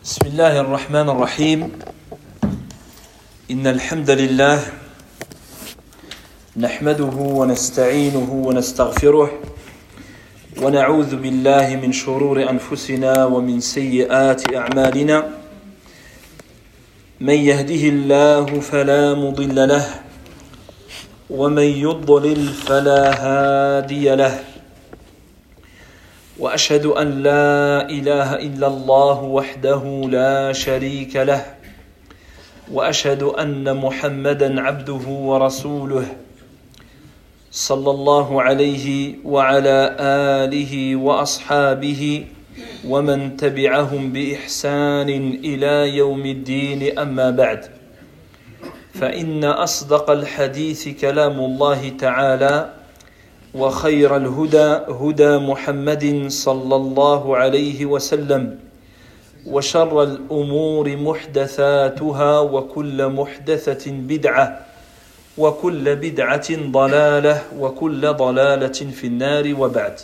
بسم الله الرحمن الرحيم إن الحمد لله نحمده ونستعينه ونستغفره ونعوذ بالله من شرور أنفسنا ومن سيئات أعمالنا من يهده الله فلا مضل له ومن يضلل فلا هادي له وأشهد أن لا إله إلا الله وحده لا شريك له وأشهد أن محمدًا عبده ورسوله صلى الله عليه وعلى آله وأصحابه ومن تبعهم بإحسان إلى يوم الدين أما بعد فإن أصدق الحديث كلام الله تعالى وخير الهدى هدى محمد صلى الله عليه وسلم وشر الأمور محدثاتها وكل محدثة بدعة وكل بدعة ضلالة وكل ضلالة في النار وبعد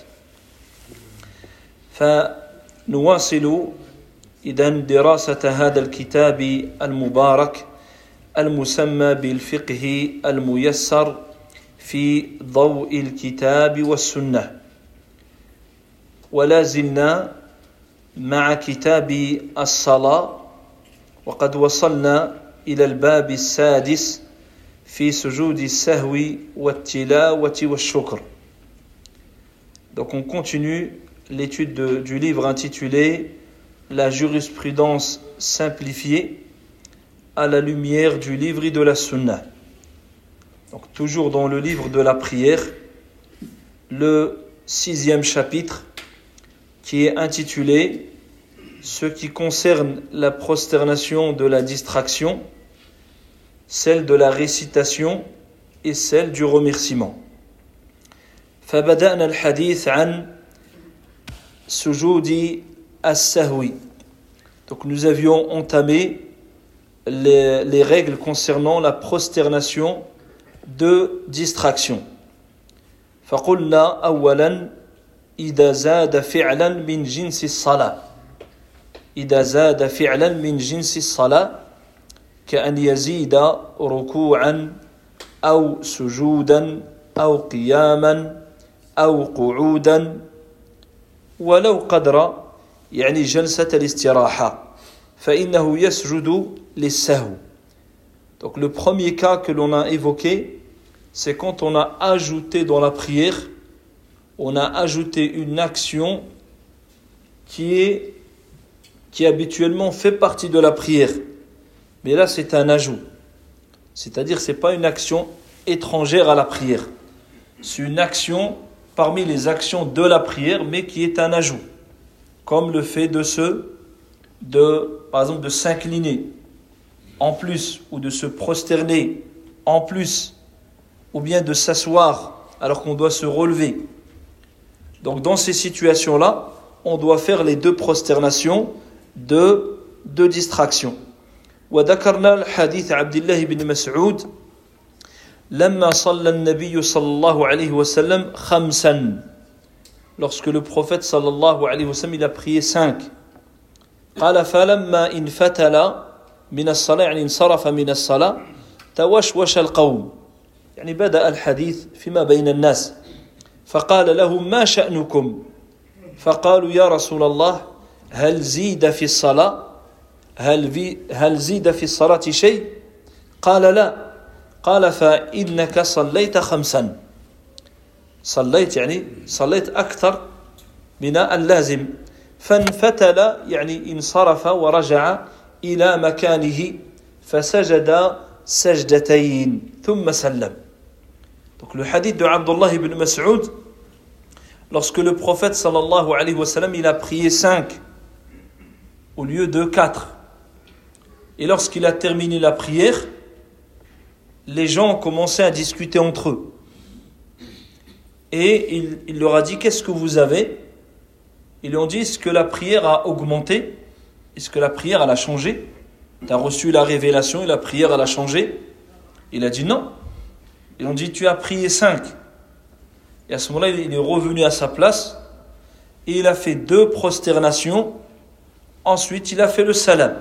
فنواصل إذن دراسة هذا الكتاب المبارك المسمى بالفقه الميسر في ضوء الكتاب والسنة ولا زلنا مع كتاب الصلاة وقد وصلنا إلى الباب السادس في سجود السهو والتلاوة والشكر. Donc on continue l'étude du livre intitulé La jurisprudence simplifiée à la lumière du livre et de la sunna. Donc, toujours dans le livre de la prière, le 6e chapitre qui est intitulé ce qui concerne la prosternation de la distraction, celle de la récitation et celle du remerciement. فبدأنا الحديث عن سجود السهو. Donc nous avions entamé les règles concernant la prosternation de distraction. فقلنا أولا إذا زاد فعلا من جنس الصلاة إذا زاد فعلا من جنس الصلاة كأن يزيد ركوعا أو سجودا أو قياما أو قعودا ولو قدر يعني جلسة الاستراحة فإنه يسجد للسهو. Donc le premier cas que l'on a évoqué, c'est quand on a ajouté dans la prière, on a ajouté une action qui habituellement fait partie de la prière. Mais là, c'est un ajout. C'est-à-dire, ce n'est pas une action étrangère à la prière. C'est une action parmi les actions de la prière, mais qui est un ajout. Comme le fait par exemple, de s'incliner en plus, ou de se prosterner en plus, ou bien de s'asseoir alors qu'on doit se relever. Donc dans ces situations-là, on doit faire les deux prosternations de distraction. وذكرنا الحديث عبد الله بن مسعود لما صلى النبي صلى الله عليه وسلم خمسا. Lorsque le prophète صلى الله عليه وسلم il a prié 5. قال فلما انفتل من الصلاة يعني انصرف من الصلاة توشوش القوم يعني بدأ الحديث فيما بين الناس فقال لهم ما شأنكم فقالوا يا رسول الله هل زيد في الصلاة هل زيد في الصلاة شيء قال لا قال فإنك صليت 5 صليت يعني صليت أكثر من اللازم فانفتل يعني انصرف ورجع إلى مكانه فسجد سجدتين ثم سلم. Donc le hadith de Abdullah ibn Mas'ud, lorsque le prophète sallallahu alayhi wa sallam il a prié 5 au lieu de 4, et lorsqu'il a terminé la prière, les gens ont commencé à discuter entre eux et il leur a dit qu'est-ce que vous avez? Ils lui ont dit est-ce que la prière a augmenté? Est-ce que la prière elle a changé? Tu as reçu la révélation et la prière elle a changé? Il a dit non. Ils ont dit tu as prié 5. Et à ce moment-là, il est revenu à sa place et il a fait 2 prosternations Ensuite, il a fait le salam.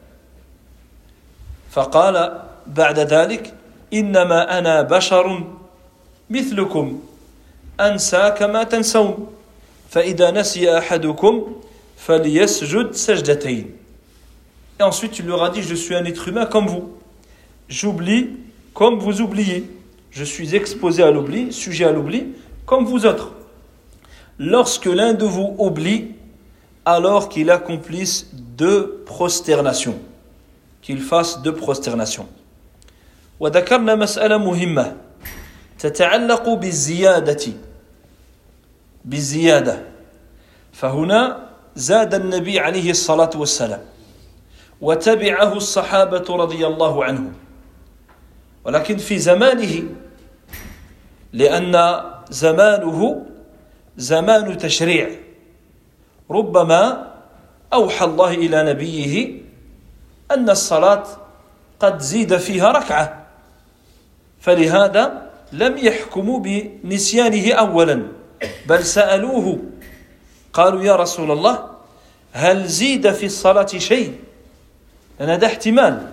فقال بعد ذلك إنما أنا بشر مثلكم أنسى كما تنسون فإذا نسي أحدكم فليسجد سجدتين. Et ensuite, il leur a dit, je suis un être humain comme vous. J'oublie comme vous oubliez. Je suis exposé à l'oubli, sujet à l'oubli, comme vous autres. Lorsque l'un de vous oublie, alors qu'il accomplisse 2 prosternations. Qu'il fasse 2 prosternations. وذكرنا مسألة مهمة تتعلق بالزيادة. فهنا زاد النبي عليه الصلاة والسلام وتبعه الصحابة رضي الله عنهم. ولكن في زمانه لأن زمانه زمان تشريع ربما أوحى الله إلى نبيه أن الصلاة قد زيد فيها ركعة فلهذا لم يحكموا بنسيانه أولا بل سألوه قالوا يا رسول الله هل زيد في الصلاة شيء لأن هذا احتمال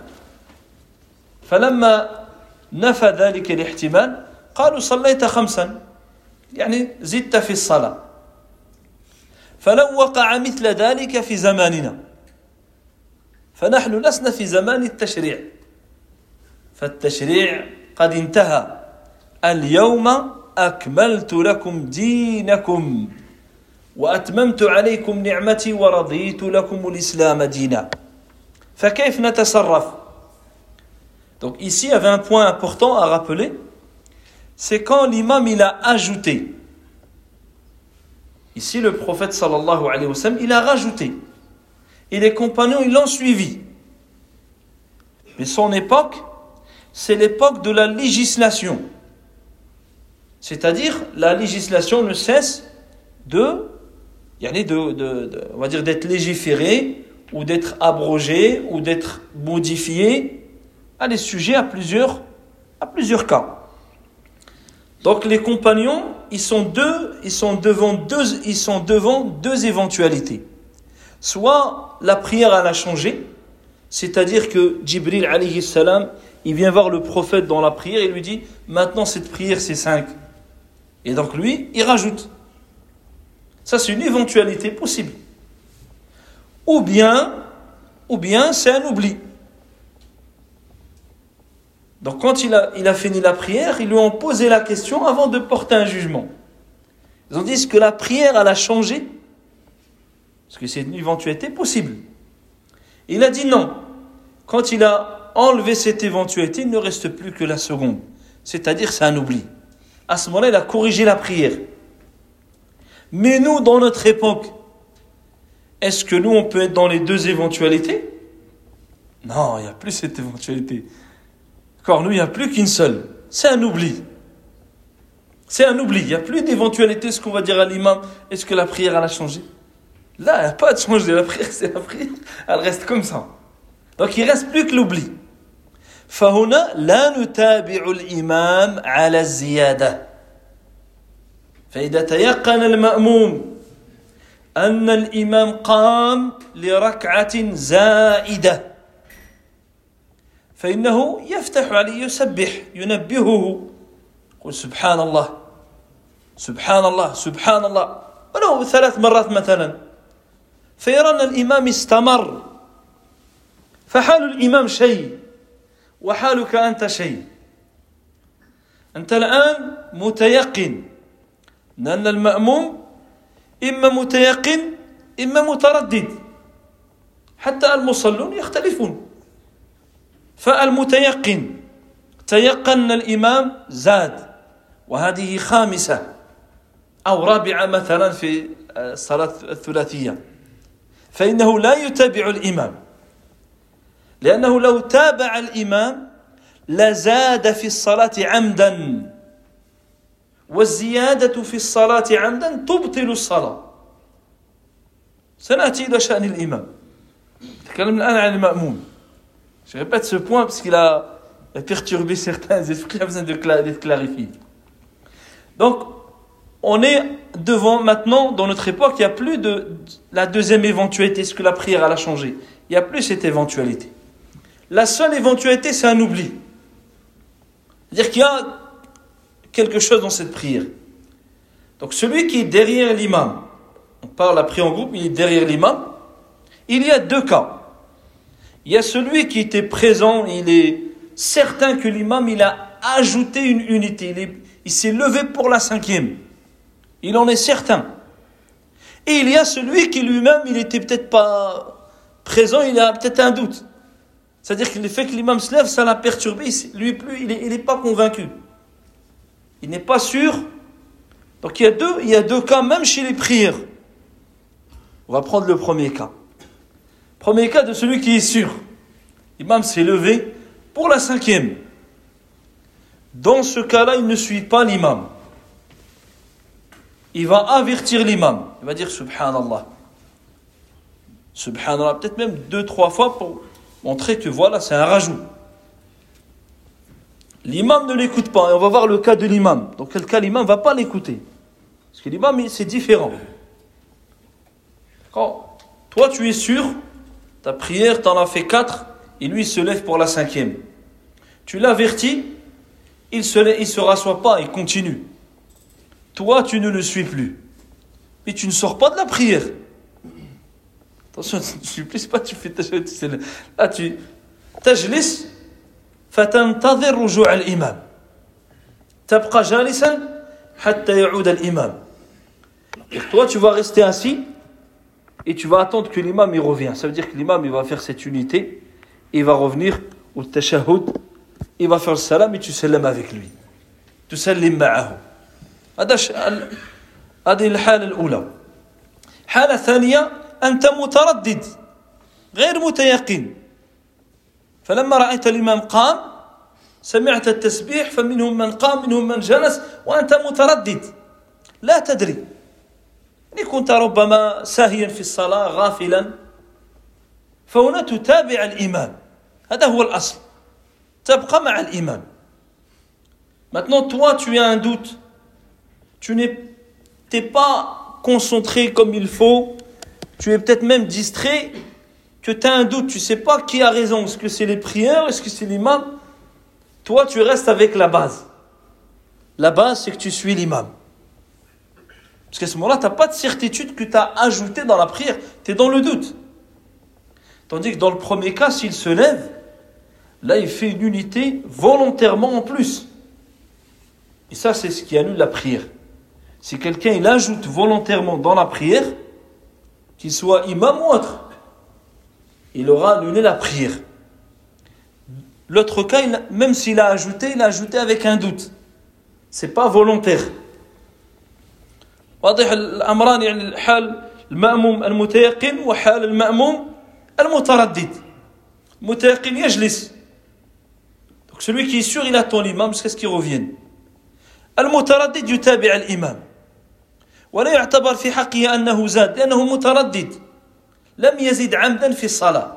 فلما نفى ذلك الاحتمال قالوا صليت 5 يعني زدت في الصلاة فلو وقع مثل ذلك في زماننا فنحن لسنا في زمان التشريع فالتشريع قد انتهى اليوم أكملت لكم دينكم وأتممت عليكم نعمتي ورضيت لكم الإسلام دينا فكيف نتصرف. Donc ici il y avait un point important à rappeler, c'est quand l'imam il a ajouté. Ici le prophète sallallahu alayhi wa sallam il a rajouté et les compagnons ils l'ont suivi. Mais son époque c'est l'époque de la législation. C'est-à-dire la législation ne cesse on va dire d'être légiférée ou d'être abrogée ou d'être modifiée. Elle est sujet à plusieurs cas. Donc les compagnons, ils sont devant deux éventualités. Soit la prière elle a changé, c'est-à-dire que Jibril alayhi salam, il vient voir le prophète dans la prière et lui dit maintenant cette prière c'est 5. Et donc lui, il rajoute. Ça c'est une éventualité possible. Ou bien c'est un oubli. Donc quand il a fini la prière, ils lui ont posé la question avant de porter un jugement. Ils ont dit est-ce que la prière elle a changé? Parce que c'est une éventualité possible. Il a dit non. Quand il a enlevé cette éventualité, il ne reste plus que la seconde. C'est-à-dire c'est un oubli. À ce moment-là, il a corrigé la prière. Mais nous, dans notre époque, est-ce que nous, on peut être dans les 2 éventualités? Non, il n'y a plus cette éventualité. Car nous, il n'y a plus qu'une seule. C'est un oubli. C'est un oubli. Il n'y a plus d'éventualité. Ce qu'on va dire à l'imam, est-ce que la prière, elle a changé? Là, il n'y a pas de changement. La prière, c'est la prière. Elle reste comme ça. Donc, il ne reste plus que l'oubli. فهنا لا نتابع الإمام على الزيادة. فإذا تيقن المأموم أن الإمام قام لركعة زائدة فإنه يفتح عليه يسبح ينبهه يقول سبحان الله سبحان الله سبحان الله ولو 3 مرات مثلا فيرى أن الإمام استمر فحال الإمام شيء وحالك أنت شيء. أنت الآن متيقن أن المأموم إما متيقن إما متردد حتى المصلون يختلفون. فالمتيقن تيقن الإمام زاد وهذه 5 أو 4 مثلا في الصلاة الثلاثية فإنه لا يتابع الإمام لأنه لو تابع الإمام لزاد في الصلاة عمدا والزيادة في الصلاة عمدا تبطل الصلاة. سنأتي إلى شأن الإمام. تكلمنا الآن عن المأموم. Je répète ce point parce qu'il a perturbé certains esprits, il a besoin d'être clarifié. Donc, on est devant maintenant, dans notre époque, il n'y a plus de la deuxième éventualité, est-ce que la prière elle a changé? Il n'y a plus cette éventualité. La seule éventualité, c'est un oubli. C'est-à-dire qu'il y a quelque chose dans cette prière. Donc celui qui est derrière l'imam, on parle la prière en groupe, il est derrière l'imam, il y a deux cas. Il y a celui qui était présent, il est certain que l'imam, il a ajouté une unité, il s'est levé pour la cinquième. Il en est certain. Et il y a celui qui lui-même, il n'était peut-être pas présent, il a peut-être un doute. C'est-à-dire que le fait que l'imam se lève, ça l'a perturbé, lui plus, il n'est pas convaincu. Il n'est pas sûr. Donc il y a deux cas, même chez les prières. On va prendre le premier cas. Premier cas de celui qui est sûr. L'imam s'est levé pour la cinquième. Dans ce cas-là, il ne suit pas l'imam. Il va avertir l'imam. Il va dire Subhanallah. Subhanallah, peut-être même 2-3 fois pour montrer que voilà, c'est un rajout. L'imam ne l'écoute pas. Et on va voir le cas de l'imam. Dans quel cas l'imam ne va pas l'écouter. Parce que l'imam, c'est différent. Quand toi, tu es sûr, ta prière, tu en as fait 4, et lui, il se lève pour la 5e. Tu l'avertis, il se rassoit pas, il continue. Toi, tu ne le suis plus. Mais tu ne sors pas de la prière. Attention, tu ne suis plus, pas tu fais ta chose. Là, tu tajlis, fatantadhir rujou' al-imam. Tabqa jalisan, hatta ya'oud al-imam. Et toi, tu vas rester assis, et tu vas attendre que l'imam il revient. Ça veut dire que l'imam il va faire cette unité, il va revenir au tashahhud, il va faire le salam et tu salam avec lui. Tu salim ma'ahu. هذه الحالة الأولى. حالة ثانية أنت متردد غير متيقن. فلما رأيت الإمام قام سمعت التسبيح فمنهم من قام منهم من جلس وأنت متردد لا تدري. إن كنت ربما ساهيا في الصلاة غافلا فهنا تتابع الإمام. هذا هو الأصل. تبقى مع الإمام. Maintenant toi tu as un doute. Tu n'es pas concentré comme il faut, tu es peut-être même distrait, que tu as un doute, tu ne sais pas qui a raison, est-ce que c'est les prières, est-ce que c'est l'imam? Toi, tu restes avec la base. La base, c'est que tu suis l'imam. Parce qu'à ce moment-là, tu n'as pas de certitude que tu as ajouté dans la prière, tu es dans le doute. Tandis que dans le premier cas, s'il se lève, là, il fait une unité volontairement en plus. Et ça, c'est ce qui annule la prière. Si quelqu'un il ajoute volontairement dans la prière, qu'il soit imam ou autre, il aura annulé la prière. L'autre cas, même s'il a ajouté, il a ajouté avec un doute. C'est pas volontaire. واضح الأمران يعني حال المأموم المتيقن وحال المأموم المتردد. المتيقن يجلس. Donc celui qui est sûr, il attend l'imam jusqu'à ce qu'il revienne. المتردد يتابع الإمام. ولا يعتبر في حقه أنه زاد لأنه متردد لم يزد عمدا في الصلاة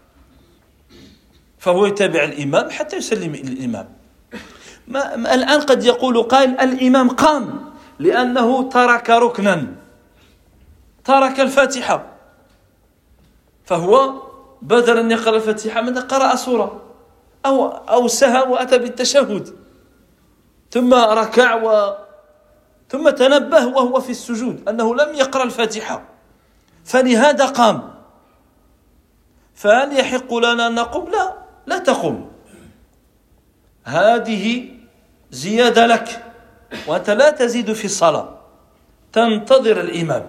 فهو يتابع الإمام حتى يسلم الإمام. الآن قد يقول قائل الإمام قام لأنه ترك ركنا ترك الفاتحة فهو بدل أن يقرأ الفاتحة من قرأ سورة أو سهى وأتى بالتشهد ثم ركع ثم تنبه وهو في السجود أنه لم يقرأ الفاتحة فلهذا قام. فهل يحق لنا أن نقوم؟ لا تقوم. هذه زيادة لك وأنت لا تزيد في الصلاة تنتظر الإمام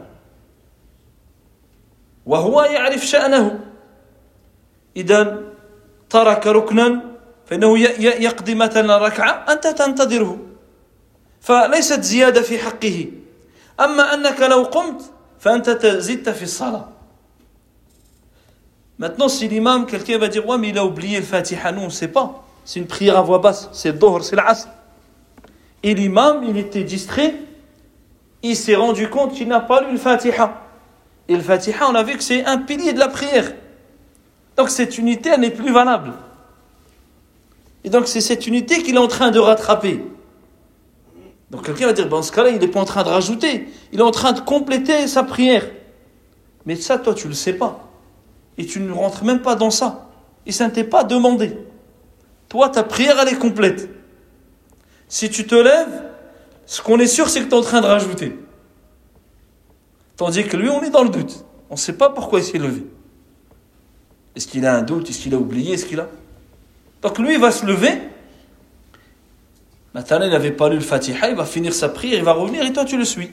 وهو يعرف شأنه. إذا ترك ركنا فإنه يقضي مثلا ركعة أنت تنتظره فليست زيادة في حقه. أما أنك لو قمت فأنت زدت في الصلاة. Maintenant, si l'imam, quelqu'un va dire, ouais, mais il a oublié le Fatiha, nous on ne sait pas. C'est une prière à voix basse, c'est le Dohr, c'est l'Asr. Et l'imam, il était distrait, il s'est rendu compte qu'il n'a pas lu le Fatiha. Et le Fatiha, on a vu que c'est un pilier de la prière. Donc cette unité, elle n'est plus valable. Et donc c'est cette unité qu'il est en train de rattraper. Donc quelqu'un va dire, dans ce cas-là, il n'est pas en train de rajouter, il est en train de compléter sa prière. Mais ça, toi, tu ne le sais pas. Et tu ne rentres même pas dans ça. Et ça ne t'est pas demandé. Toi, ta prière, elle est complète. Si tu te lèves, ce qu'on est sûr, c'est que tu es en train de rajouter. Tandis que lui, on est dans le doute. On ne sait pas pourquoi il s'est levé. Est-ce qu'il a un doute? Est-ce qu'il a oublié? Est-ce qu'il a... Donc lui, il va se lever. Maintenant, il n'avait pas lu le Fatiha, il va finir sa prière, il va revenir et toi, tu le suis.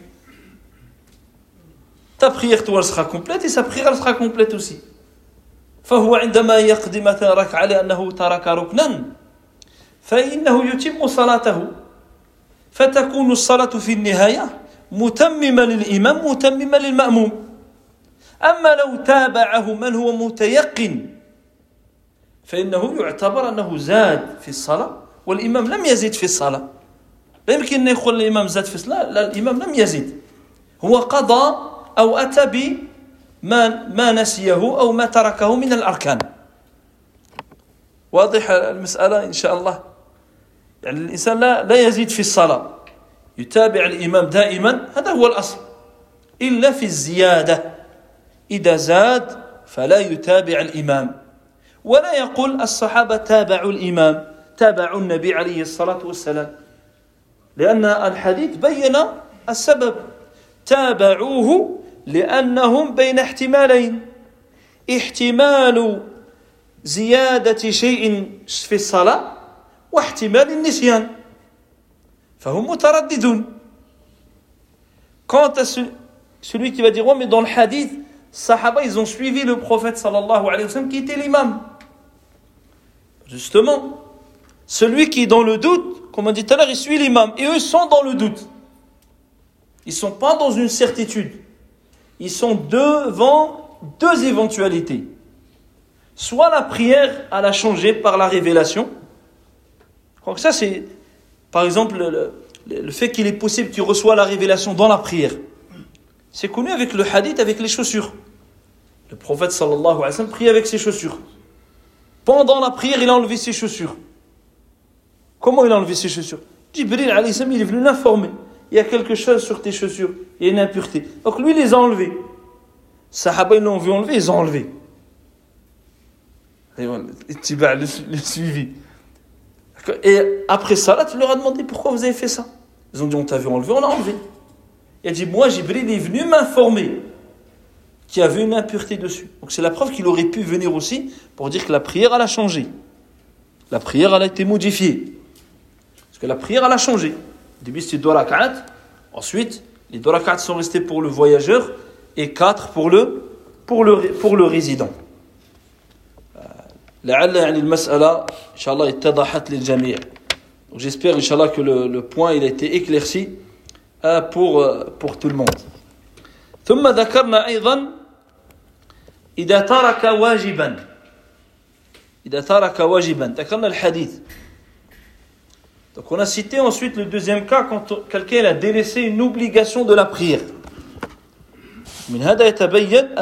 Ta prière, toi, elle sera complète et sa prière, elle sera complète aussi. فهو عندما يقضي مثلا ركعة لأنه ترك ركنا فإنه يتم صلاته فتكون الصلاة في النهاية متممة للإمام متممة للمأموم. أما لو تابعه من هو متيقن فإنه يعتبر أنه زاد في الصلاة والإمام لم يزد في الصلاة. لا يمكن أن يقول الإمام زاد في الصلاة، لا، الإمام لم يزد، هو قضى أو أتى بما نسيه أو ما تركه من الأركان. واضح المسألة إن شاء الله؟ يعني الإنسان لا يزيد في الصلاة، يتابع الإمام دائما، هذا هو الأصل، إلا في الزيادة. إذا زاد فلا يتابع الإمام، ولا يقول الصحابة تابعوا الإمام، تابعوا النبي عليه الصلاة والسلام، لأن الحديث بين السبب، تابعوه لأنهم بين احتمالين، احتمال زيادة شيء في الصلاة واحتمال النسيان، فهم مترددون. Quant à celui qui va dire, ouais, mais dans le hadith, Sahaba, ils ont suivi le prophète sallallahu alayhi wa sallam qui était l'imam. Justement, celui qui est dans le doute, comme on dit tout à l'heure, il suit l'imam. Et eux sont dans le doute. Ils ne sont pas dans une certitude. Ils sont devant deux éventualités. Soit la prière, elle a changé par la révélation. Donc ça, c'est, par exemple, le fait qu'il est possible qu'il reçoive la révélation dans la prière. C'est connu avec le hadith, avec les chaussures. Le prophète sallallahu alayhi wa sallam prie avec ses chaussures. Pendant la prière, il a enlevé ses chaussures. Comment il a enlevé ses chaussures? Jibril alayhi salam, il est venu l'informer. Il y a quelque chose sur tes chaussures. Il y a une impureté. Donc lui, il les a enlevées. Sahaba, ils l'ont vu enlever, ils ont enlevé. Et le suivi. Et après ça, tu leur as demandé pourquoi vous avez fait ça. Ils ont dit, on t'a vu enlever, on l'a enlevé. Il a dit, moi, Jibril est venu m'informer qu'il y avait une impureté dessus. Donc c'est la preuve qu'il aurait pu venir aussi pour dire que la prière, elle a changé. La prière, elle a été modifiée. Parce que la prière, elle a changé. Au début, c'était 2 rak'at. Ensuite, les 2 rak'at sont restés pour le voyageur et 4 pour le résident. لعل يعني المسألة إن شاء الله اتضحت للجميع. Donc j'espère إن شاء الله que le point il a été éclairci pour tout le monde. ثم ذكرنا أيضا إذا ترك واجبا ذكرنا الحديث. Donc on a cité ensuite le deuxième cas quand quelqu'un a délaissé une obligation de la prière. من هذا يتبين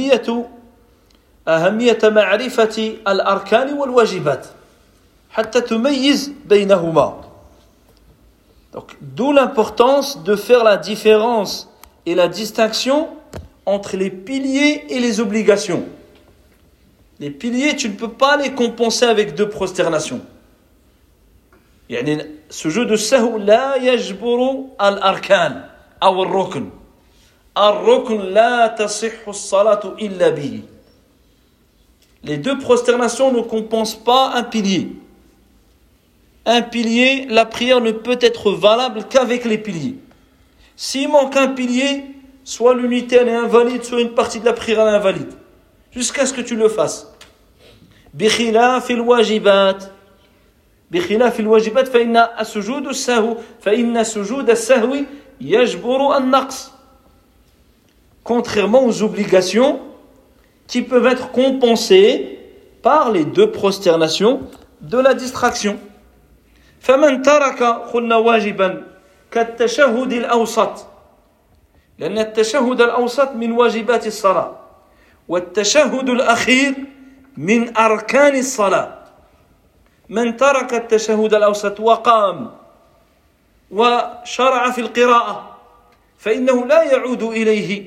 أهمية معرفة الأركان والواجبات حتى تميز بينهما. Donc, d'où l'importance de faire la différence et la distinction entre les piliers et les obligations. Les piliers, tu ne peux pas les compenser avec 2 prosternations. يعني ce jeu de sahou لا يجبر الأركان أو الركن. الركن لا تصح الصلاة إلا به. Les 2 prosternations ne compensent pas un pilier. Un pilier, la prière ne peut être valable qu'avec les piliers. S'il manque un pilier, soit l'unité elle est invalide, soit une partie de la prière elle est invalide. Jusqu'à ce que tu le fasses. بخلاف الواجبات فإن سجود السهو يجبر النقص. Contrairement aux obligations qui peuvent être compensées par les 2 prosternations de la distraction. فمن ترك قلنا واجبا كالتشهد الأوسط لأن التشهد الأوسط من واجبات الصلاة والتشهد الأخير من أركان الصلاة. من ترك التشهد الأوسط وقام وشرع في القراءة فإنه لا يعود إليه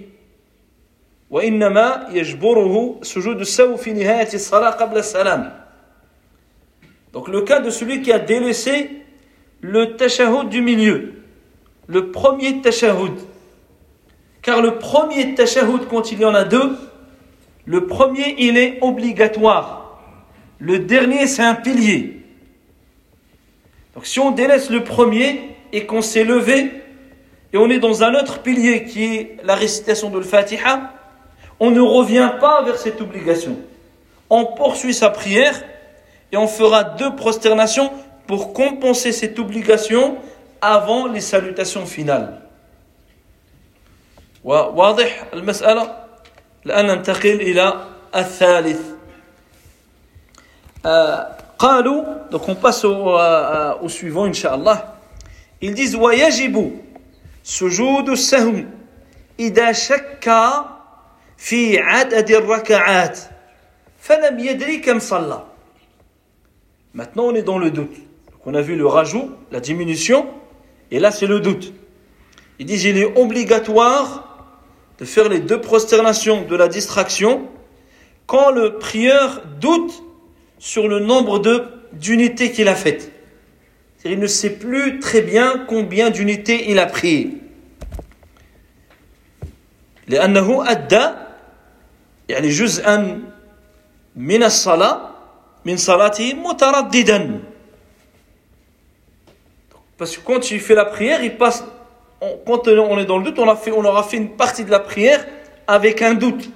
وإنما يجبره سجود السهو في نهاية الصلاة قبل السلام. Donc le cas de celui qui a délaissé le tashahhud du milieu, le premier tashahhud. Car le premier tashahhud, quand il y en a deux, le premier il est obligatoire. Le dernier c'est un pilier. Donc si on délaisse le premier et qu'on s'est levé et on est dans un autre pilier qui est la récitation de l'Fatiha, on ne revient pas vers cette obligation. On poursuit sa prière et on fera 2 prosternations pour compenser cette obligation avant les salutations finales. واضح المسألة؟ الآن ننتقل إلى الثالث. قالوا, donc on passe au suivant Inch'Allah. Ils disent ويجب سجود السهو إذا شك في عدد الركعات فلم يدري كم صلى. Maintenant on est dans le doute. Donc on a vu le rajout, la diminution, et là c'est le doute. Ils disent il est obligatoire de faire les 2 prosternations de la distraction quand le prieur doute sur le nombre d'unités qu'il a faites. C'est-à-dire il ne sait plus très bien combien d'unités il a prié. لأنه أدى يعني جزءا من الصلاة من صلاته مترددا. Parce que quand il fait la prière, il passe, quand on est dans le doute, on aura fait une partie de la prière avec un doute.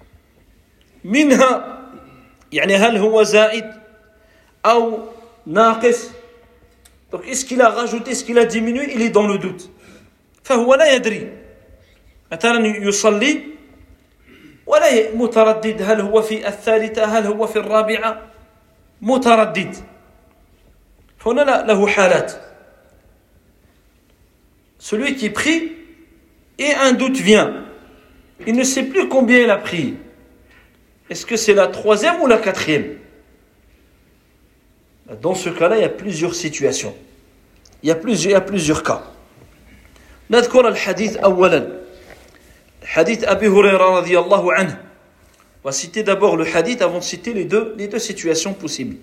منها يعني هل هو زائد أو ناقص. Donc est-ce qu'il a rajouté, est-ce qu'il a diminué, il est dans le doute. فهو لا يدري. مثلا يصلي ولا متردد هل هو في الثالثة هل هو في الرابعة متردد. فهنا له حالات. Celui qui prie et un doute vient. Il ne sait plus combien il a prié. Est-ce que c'est la 3e ou la 4e? Dans ce cas-là, il y a plusieurs situations. Il y a plusieurs cas. نذكر الحديث أولا. حديث أبي هريرة رضي الله عنه. On va citer d'abord le hadith avant de citer les deux situations possibles.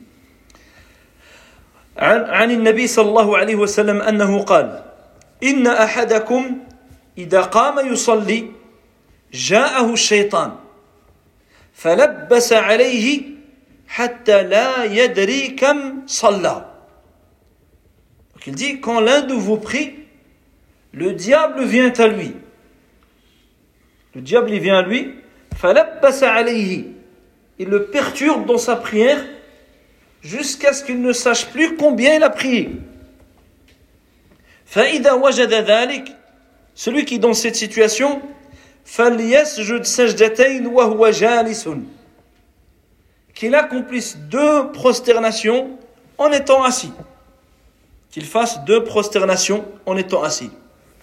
عن النبي صلى الله عليه وسلم أنه قال إن أحدكم إذا قام يصلي جاءه الشيطان فلبس عليه حتى لا يدري كم صلى. Donc il dit quand l'un de vous prie, le diable vient à lui. Le diable il vient à lui, فلبس عليه. Il le perturbe dans sa prière jusqu'à ce qu'il ne sache plus combien il a prié. فإذا وجد ذلك, celui qui est dans cette situation, فليسجد سجدتين وهو جالس. Qu'il accomplisse 2 prosternations en étant assis. Qu'il fasse 2 prosternations en étant assis.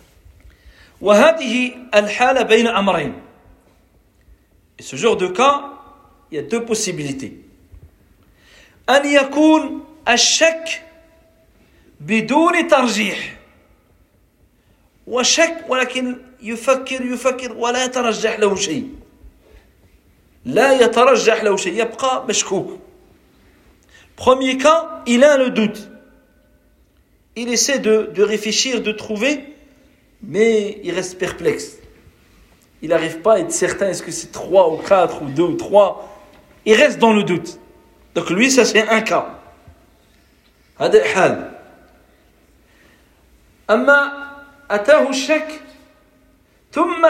وهذه الحالة بين أمرين. Et ce genre de cas, il y a 2 possibilités. أن يكون الشك بدون ترجيح. وشك ولكن يفكر ولا يترجح له شيء. لا يترجح له شيء. يبقى مشكوك. Premier cas, il a le doute. Il essaie de réfléchir, de trouver, mais il reste perplexe. Il n'arrive pas à être certain, est-ce que c'est 3 ou 4 ou 2 ou 3. Il reste dans le doute. Donc lui, ça c'est un cas. هذا الحال. أما أتاه الشك ثم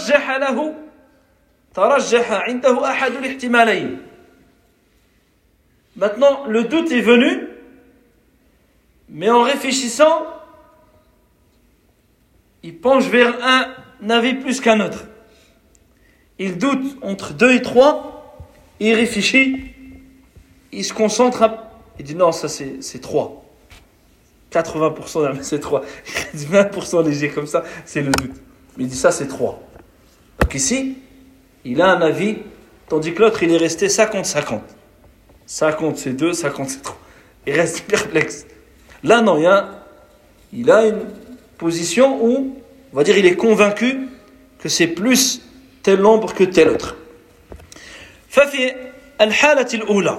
ترجح عنده أحد الاحتمالين. Maintenant, le doute est venu, mais en réfléchissant, il penche vers un avis plus qu'un autre. Il doute entre 2 et 3, il réfléchit, il se concentre, il dit non, ça c'est 3. 80% c'est 3. Il dit 20% léger comme ça, c'est le doute. Mais il dit ça c'est 3. Donc ici, il a un avis, tandis que l'autre il est resté 50-50. 50 c'est 2, 50 c'est 3. Il reste perplexe. Là non, il a position où, on va dire, il est convaincu que c'est plus tel nombre que tel autre. ففي الحالة الأولى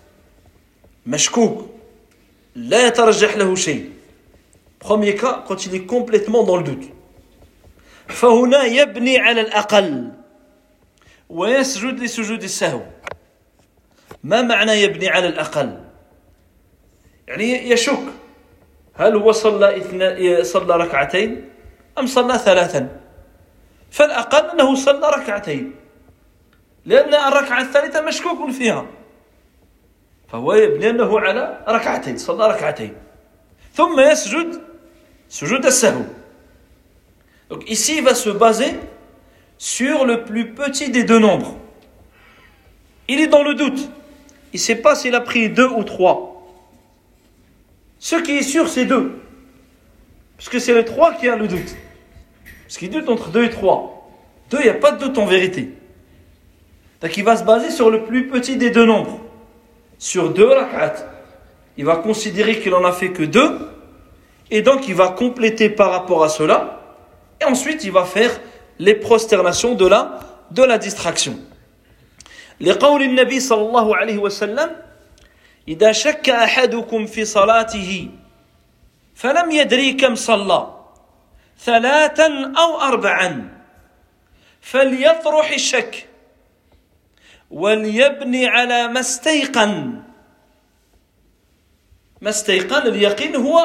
مشكوك لا يترجح له شيء. Premier cas, quand il est complètement dans le doute. فهنا يبني على الأقل ويسجد لسجود السهو. ما معنى يبني على الأقل؟ يعني يشك هل هو صلى ركعتين أم صلى ثلاثا؟ فالأقل أنه صلى ركعتين لأن الركعة الثالثة مشكوك فيها فهو يبني أنه على ركعتين صلى ركعتين ثم يسجد سجود السهو. Donc ici il va se baser sur le plus petit des deux nombres. Il est dans le doute. Il ne sait pas s'il a pris 2 ou 3. Ce qui est sûr c'est 2. Parce que c'est le 3 qui a le doute. Parce qu'il doute entre 2 et 3. 2, il n'y a pas de doute en vérité. Donc il va se baser sur le plus petit des deux nombres. Sur 2 rak'at. Il va considérer qu'il n'en a fait que 2. Et donc il va compléter par rapport à cela. Et ensuite il va faire les prosternations de la distraction. لقول النبي صلى الله عليه وسلم إذا شك أحدكم في صلاته فلم يدري كم صلى 3 أو 4 فليطرح الشك وليبني على ما استيقن. اليقين هو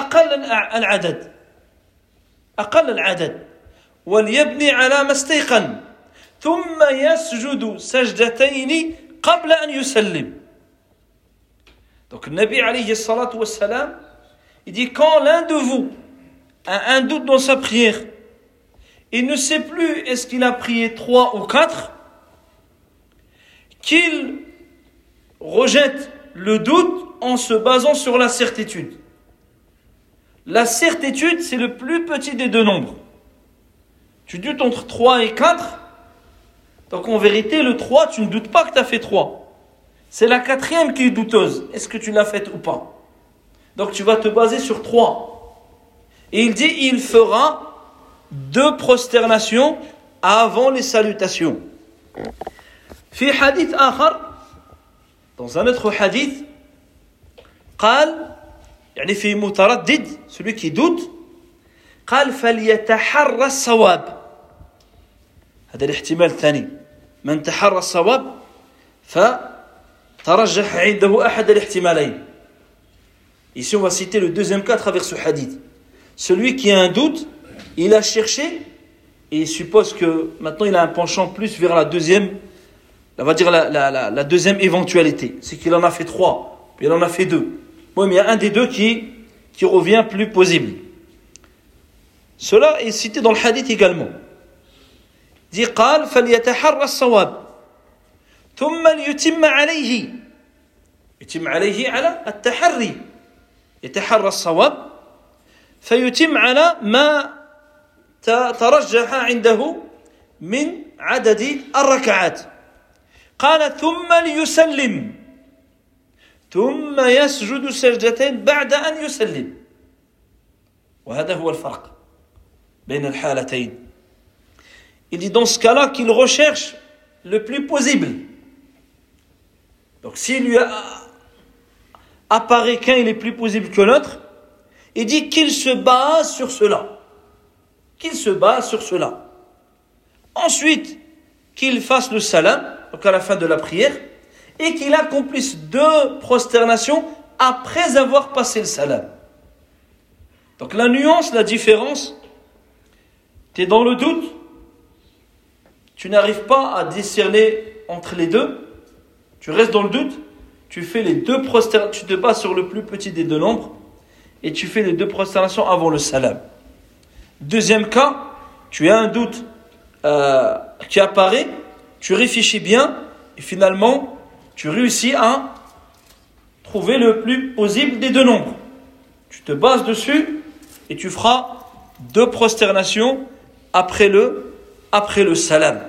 أقل العدد وليبني على ما استيقن ثم يسجد سجدتين قبل أن يسلم. Donc le Nabi alayhi salatu wassalam, il dit quand l'un de vous a un doute dans sa prière, il ne sait plus est-ce qu'il a prié 3 ou 4, qu'il rejette le doute en se basant sur la certitude. La certitude, c'est le plus petit des deux nombres. Tu doutes entre 3 et 4, donc en vérité, le 3, tu ne doutes pas que tu as fait 3. C'est la 4e qui est douteuse. Est-ce que tu l'as faite ou pas? Donc tu vas te baser sur 3. Et il dit, il fera 2 prosternations avant les salutations. في حديث آخر, dans un autre hadith, قال يعني في متردد, celui qui doute, قال فليتحرى الصواب. هذا الاحتمال الثاني, من تحرى الصواب فترجح عنده أحد الاحتمالين. Ici on va citer le deuxième cas à travers ce hadith. Celui qui a un doute, il a cherché et il suppose que maintenant il a un penchant plus vers la deuxième, on va dire la deuxième éventualité. C'est qu'il en a fait 3, puis il en a fait 2. Oui, mais il y a un des deux qui revient plus plausible. Cela est cité dans le hadith également. Il dit قال فليتحرى الصواب ثم ليتم عليه. يتم عليه على التحري. يتحرى الصواب فيتم على ما ترجح عنده من عدد الركعات. قال ثم ليسلم ثم يسجد سجدتين بعد أن يسلم. وهذا هو الفرق بين الحالتين. Il dit dans ce cas-là qu'il recherche le plus possible. Donc s'il lui apparaît qu'un il est plus possible que l'autre, il dit qu'il se base sur cela. Qu'il se base sur cela. Ensuite, qu'il fasse le salam, donc à la fin de la prière, et qu'il accomplisse 2 prosternations après avoir passé le salam. Donc la nuance, la différence, tu es dans le doute, tu n'arrives pas à discerner entre les deux, tu restes dans le doute, tu fais les 2 prosternations, tu te bases sur le plus petit des deux nombres, et tu fais les 2 prosternations avant le salam. Deuxième cas, tu as un doute qui apparaît, tu réfléchis bien, et finalement, tu réussis à trouver le plus possible des deux nombres. Tu te bases dessus, et tu feras 2 prosternations après le salam.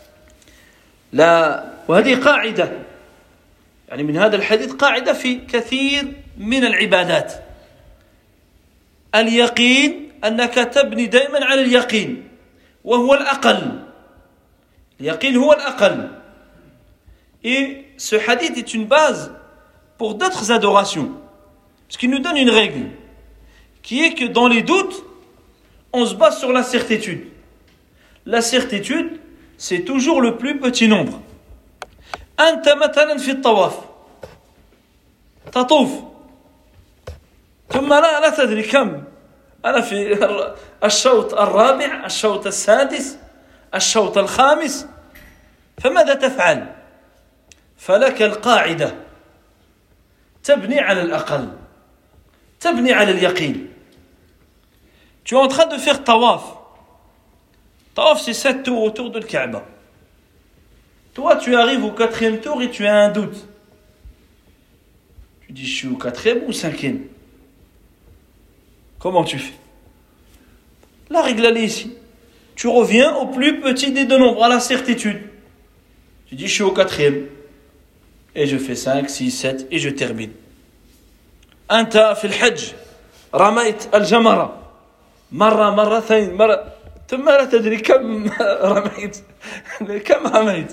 وهذه قاعدة يعني من هذا الحديث قاعدة في كثير من العبادات. اليقين أنك تبني دائما على اليقين وهو الأقل. اليقين هو الأقل. Et ce hadith est une base pour d'autres adorations. Parce qu'il nous donne une règle qui est que dans les doutes, on se base sur la certitude. La certitude, c'est toujours le plus petit nombre. أنت مثلا في الطواف تطوف ثم لا تدري كم أنا في الشوط الرابع الشوط السادس الشوط الخامس فماذا تفعل؟ فلك القاعدة تبني على الأقل تبني على اليقين. Tu es en train de faire tawaf. Tawaf, c'est 7 tours autour de Kaaba. Toi, tu arrives au 4e tour et tu as un doute. Tu dis, je suis au 4e ou 5e? Comment tu fais? La règle, elle est ici. Tu reviens au plus petit des deux nombres, à la certitude. Tu dis, je suis au 4e. Et je fais 5, 6, 7 et je termine. أنت في الحج رميت الجمرة مرة مرتين مرة ثم لا تدري كم رميت كم رميت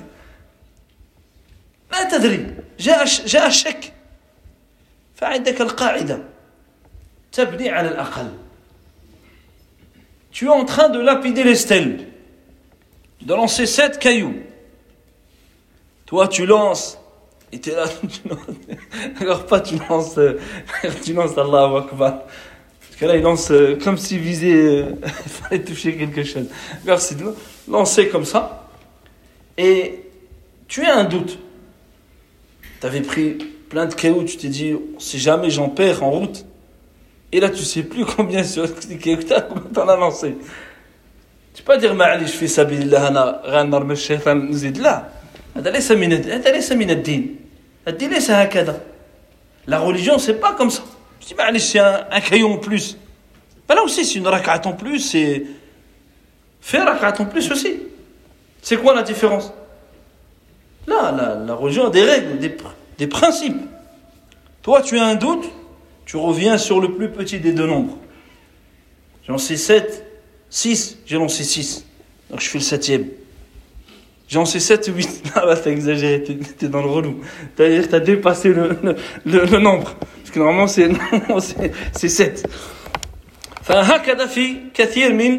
لا تدري جاء الشك فعندك القاعدة تبني على الأقل. Tu es en train de lapider les stèles, de lancer 7 cailloux. Toi tu lances et tu es là, alors pas tu lances Allahu Akbar. Parce que là, il lance comme s'il visait, il fallait toucher quelque chose. Alors, c'est de lancer comme ça. Et tu as un doute. Tu avais pris plein de cailloux, tu t'es dit, si jamais j'en perds en route. Et là, tu ne sais plus combien de cailloux tu en as lancé. Tu ne peux pas dire, Ma'ali, je fais sabilillah, ana ghanar me shaytan nzid. Là, هذا ليس من الدين. الدين ليس هكذا. La religion, c'est pas comme ça. Je dis, mais c'est un caillou en plus. Ben là aussi, c'est une rak'at en plus, c'est... Fais rak'at en plus aussi. C'est quoi la différence? Là, la religion a des règles, des principes. Toi, tu as un doute, tu reviens sur le plus petit des deux nombres. J'ai lancé 7, 6, j'ai lancé 6. Donc je fais le 7e. J'ai lancé 7 ou 8. Là, t'as exagéré, t'es dans le relou. T'as dépassé le nombre. Parce que normalement, c'est 7. فهكذا في كثير من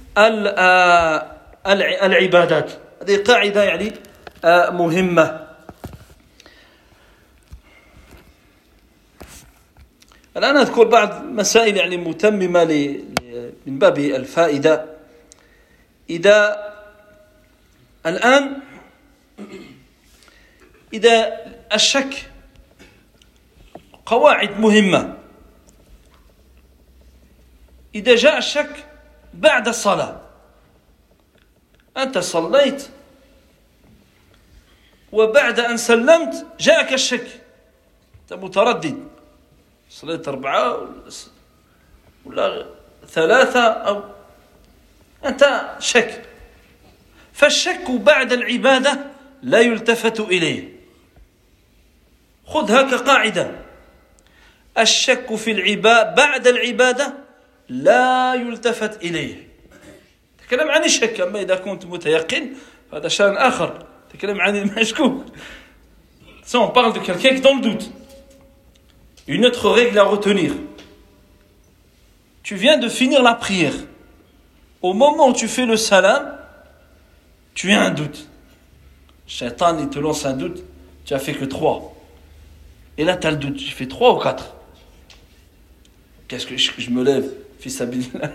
العبادات. هذه قاعدة يعني مهمة. الآن أذكر بعض مسائل يعني متممة من باب الفائدة. الآن إذا الشك قواعد مهمة. إذا جاء الشك بعد الصلاة أنت صليت وبعد أن سلمت جاءك الشك أنت متردد صليت 4 ولا 3 أو أنت شك. فالشك بعد العبادة لا يلتفت إليه. خذها كقاعدة. الشك في العبادة بعد العبادة لا يلتفت إليه. تكلم عن الشك. أما إذا كنت متيقن هذا شأن آخر. تكلم عن المشكوك. Ça, on parle de quelqu'un qui est dans le doute. Une autre règle à retenir. Tu viens de finir la prière. Au moment où tu fais le salam, tu as un doute. Shaitan, il te lance un doute. Tu as fait que 3. Et là, tu as le doute. J'ai fait 3 ou 4. Qu'est-ce que je me lève? Fils Abilillah.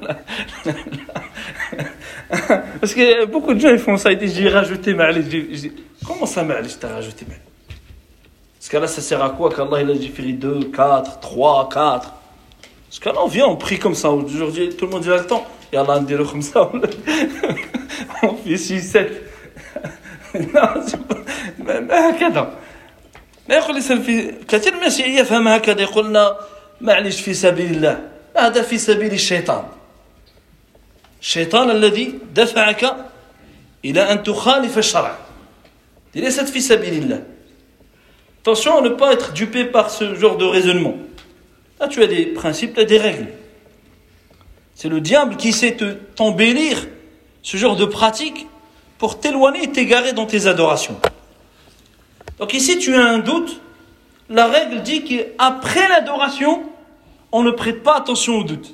Parce que beaucoup de gens ils font ça. Ils disent, j'ai rajouté Ma'ali. Comment ça, Ma'ali, je t'ai rajouté Ma'ali? Parce que là, ça sert à quoi qu'Allah, il a différé 2, 4, 3, 4. Parce que là, on vient, on prie comme ça. Aujourd'hui, tout le monde il a le temps. Et Allah, on dit comme ça. On fait 6, 7. Non, c'est pas... ما هكذا. لا يقول الإنسان في كثير من الناس يفهم هكذا يقولنا معلش في سبيل الله. هذا في سبيل الشيطان. الشيطان الذي دفعك إلى أن تخالف الشرع. ليست في سبيل الله. Attention à ne pas être dupé par ce genre de raisonnement. Là, tu as des principes, tu as des règles. C'est le diable qui sait t'embellir ce genre de pratique pour t'éloigner et t'égarer dans tes adorations. Donc ici, tu as un doute. La règle dit qu'après l'adoration, on ne prête pas attention au doute.